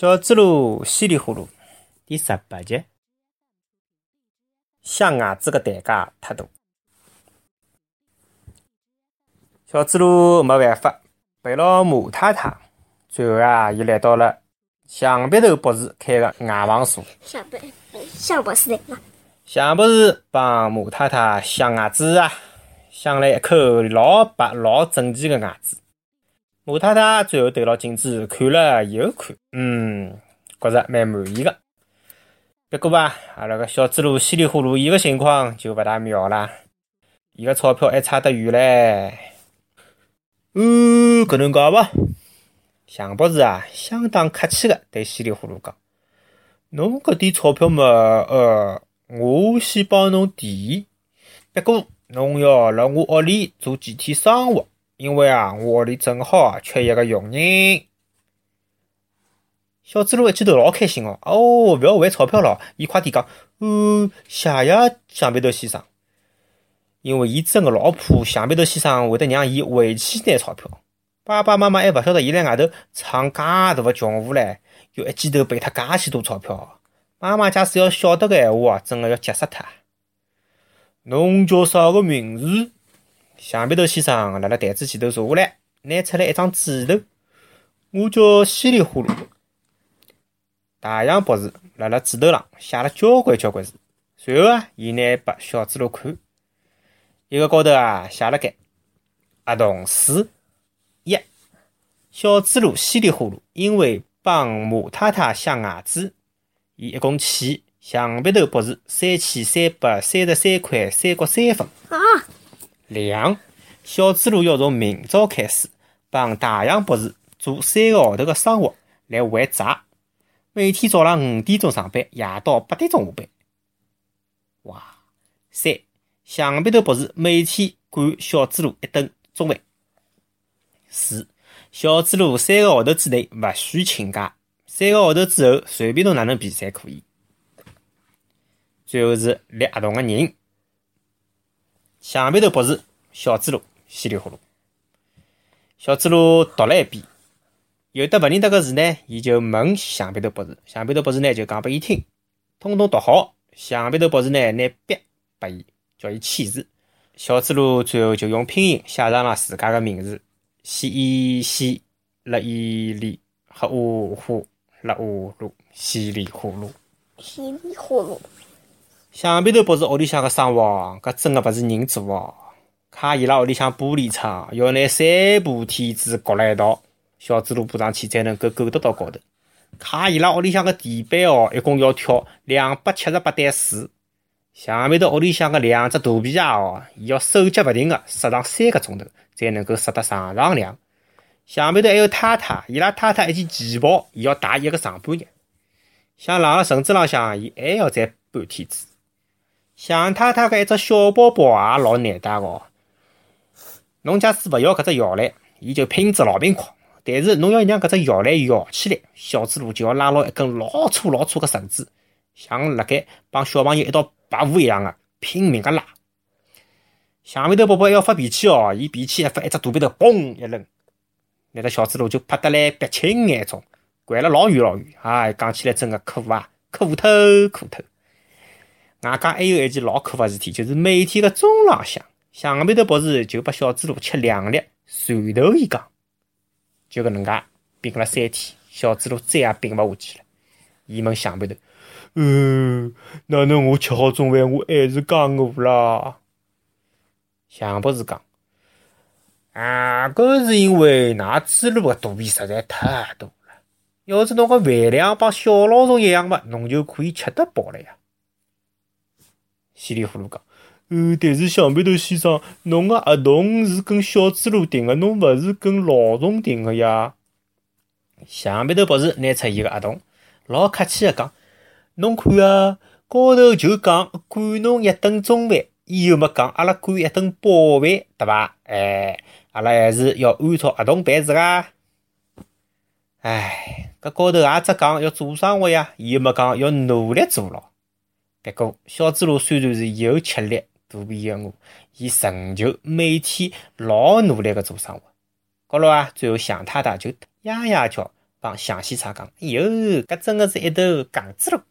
小猪猡稀里呼噜第18集，想伢子个代价太大。小猪猡没办法，陪牢马太太，最后伊来到了象鼻头博士开个外房所。 象博士来了。 象博士帮马太太想伢子想了一口老白老整齐个伢子。马太太最后对牢镜子看了又看，觉着蛮满意个。不过阿拉个小猪猡稀里呼噜伊个情况就勿大妙啦，伊个钞票还差得远唻。搿能介伐？象博士相当客气个对稀里呼噜讲：“侬搿点钞票嘛，我先帮侬提，不过侬要辣我屋里做几天生活，因为我屋里正好缺一个佣人。”小猪猡一记头老开心勿要还钞票咯，伊快点讲：“谢谢象鼻头先生。”因为伊真个老怕象鼻头先生会得让伊回去拿钞票。爸爸妈妈还勿晓得伊辣外头闯介大个穷户唻，又一记头赔脱介许多钞票。妈妈假使要晓得个闲话真个要急死脱。侬叫啥个名字？象鼻头先生辣台子前头坐下来，拿出来一张纸头。我叫稀里呼噜。大象博士辣纸头上写了交关字，随后伊拿拨小猪猡看。一个高头写了该合同书1，小猪猡稀里呼噜因为帮马太太想伢子，伊一共欠象鼻头博士3333块3角3分。2，小猪猡要从明朝开始帮大象博士做3个号头个生活来还债，每天早浪5点钟上班，夜到8点钟下班。3，象鼻头博士每天管小猪猡1顿中饭。4，小猪猡3个号头之内勿许请假，3个号头之后随便侬哪能比侪可以。最后是立合同个人：象鼻头博士、小猪猡稀里呼噜。小猪猡读了一遍，有的勿认得个字呢，伊就问象鼻头博士，象鼻头博士呢就讲拨伊听，统统读好。象鼻头博士呢拿笔拨伊，叫伊签字。小猪猡最后就用拼音写上了自家个名字：西了伊里和呼了乌噜稀里呼噜。象鼻头博士屋里向个生活搿真个勿是人做卡伊拉屋里向玻璃窗要拿3部梯子搁辣一道，小猪猡爬上去才能够够得到高头。卡伊拉屋里向个地板一共要跳278段树。象鼻头屋里向个2只肚皮伊要手脚勿停个塞上3个钟头，才能够塞得上梁。象鼻头还有太太，伊拉太太一件旗袍，伊要戴一个上半日。像浪了绳子浪向，伊还要再半天子。象太太个一只小包包也老难带个侬假使勿要搿只摇篮，伊就拼只老兵框。但是侬要让搿只摇篮摇起来，小猪猡就要拉牢一根老粗个绳子，像辣盖帮小朋友一道拔河一样个拼命个拉。象鼻头宝宝要发脾气伊脾气一发，一只大鼻头嘣一扔，那个小猪猡就拍得来鼻青眼肿，掼了老远。讲起来真个苦透。外加还有一件老可个事体，就是每天个中浪向，象鼻头博士就拨小猪猡吃2粒蒜头鱼缸。就搿能介病了3天，小猪猡再也病勿下去了。伊问象鼻头：“哪能我吃好中饭，我还是介饿啦？”象博士讲：“搿是因为㑚猪猡个肚皮实在太大了。要是侬个饭量帮小老鼠一样嘛，侬就可以吃得饱了呀。”稀里呼噜讲：“但是象鼻头先生，侬个合同是跟小猪猡订个，侬勿是跟老虫订个呀。”象鼻头博士拿出伊个合同，老客气个讲：“侬看高头就讲管侬1顿中饭，伊又没讲阿拉管1顿饱饭，对伐？阿拉还是要按照合同办事个。搿高头也只讲要做生活呀，伊又没讲要努力做咯。不过小猪猡虽然是又吃力肚皮又饿，伊仍旧每天老努力个做生活。高头最后象太太就呀叫帮向西茶讲：“哎哟，搿真个是一头戆子咯！”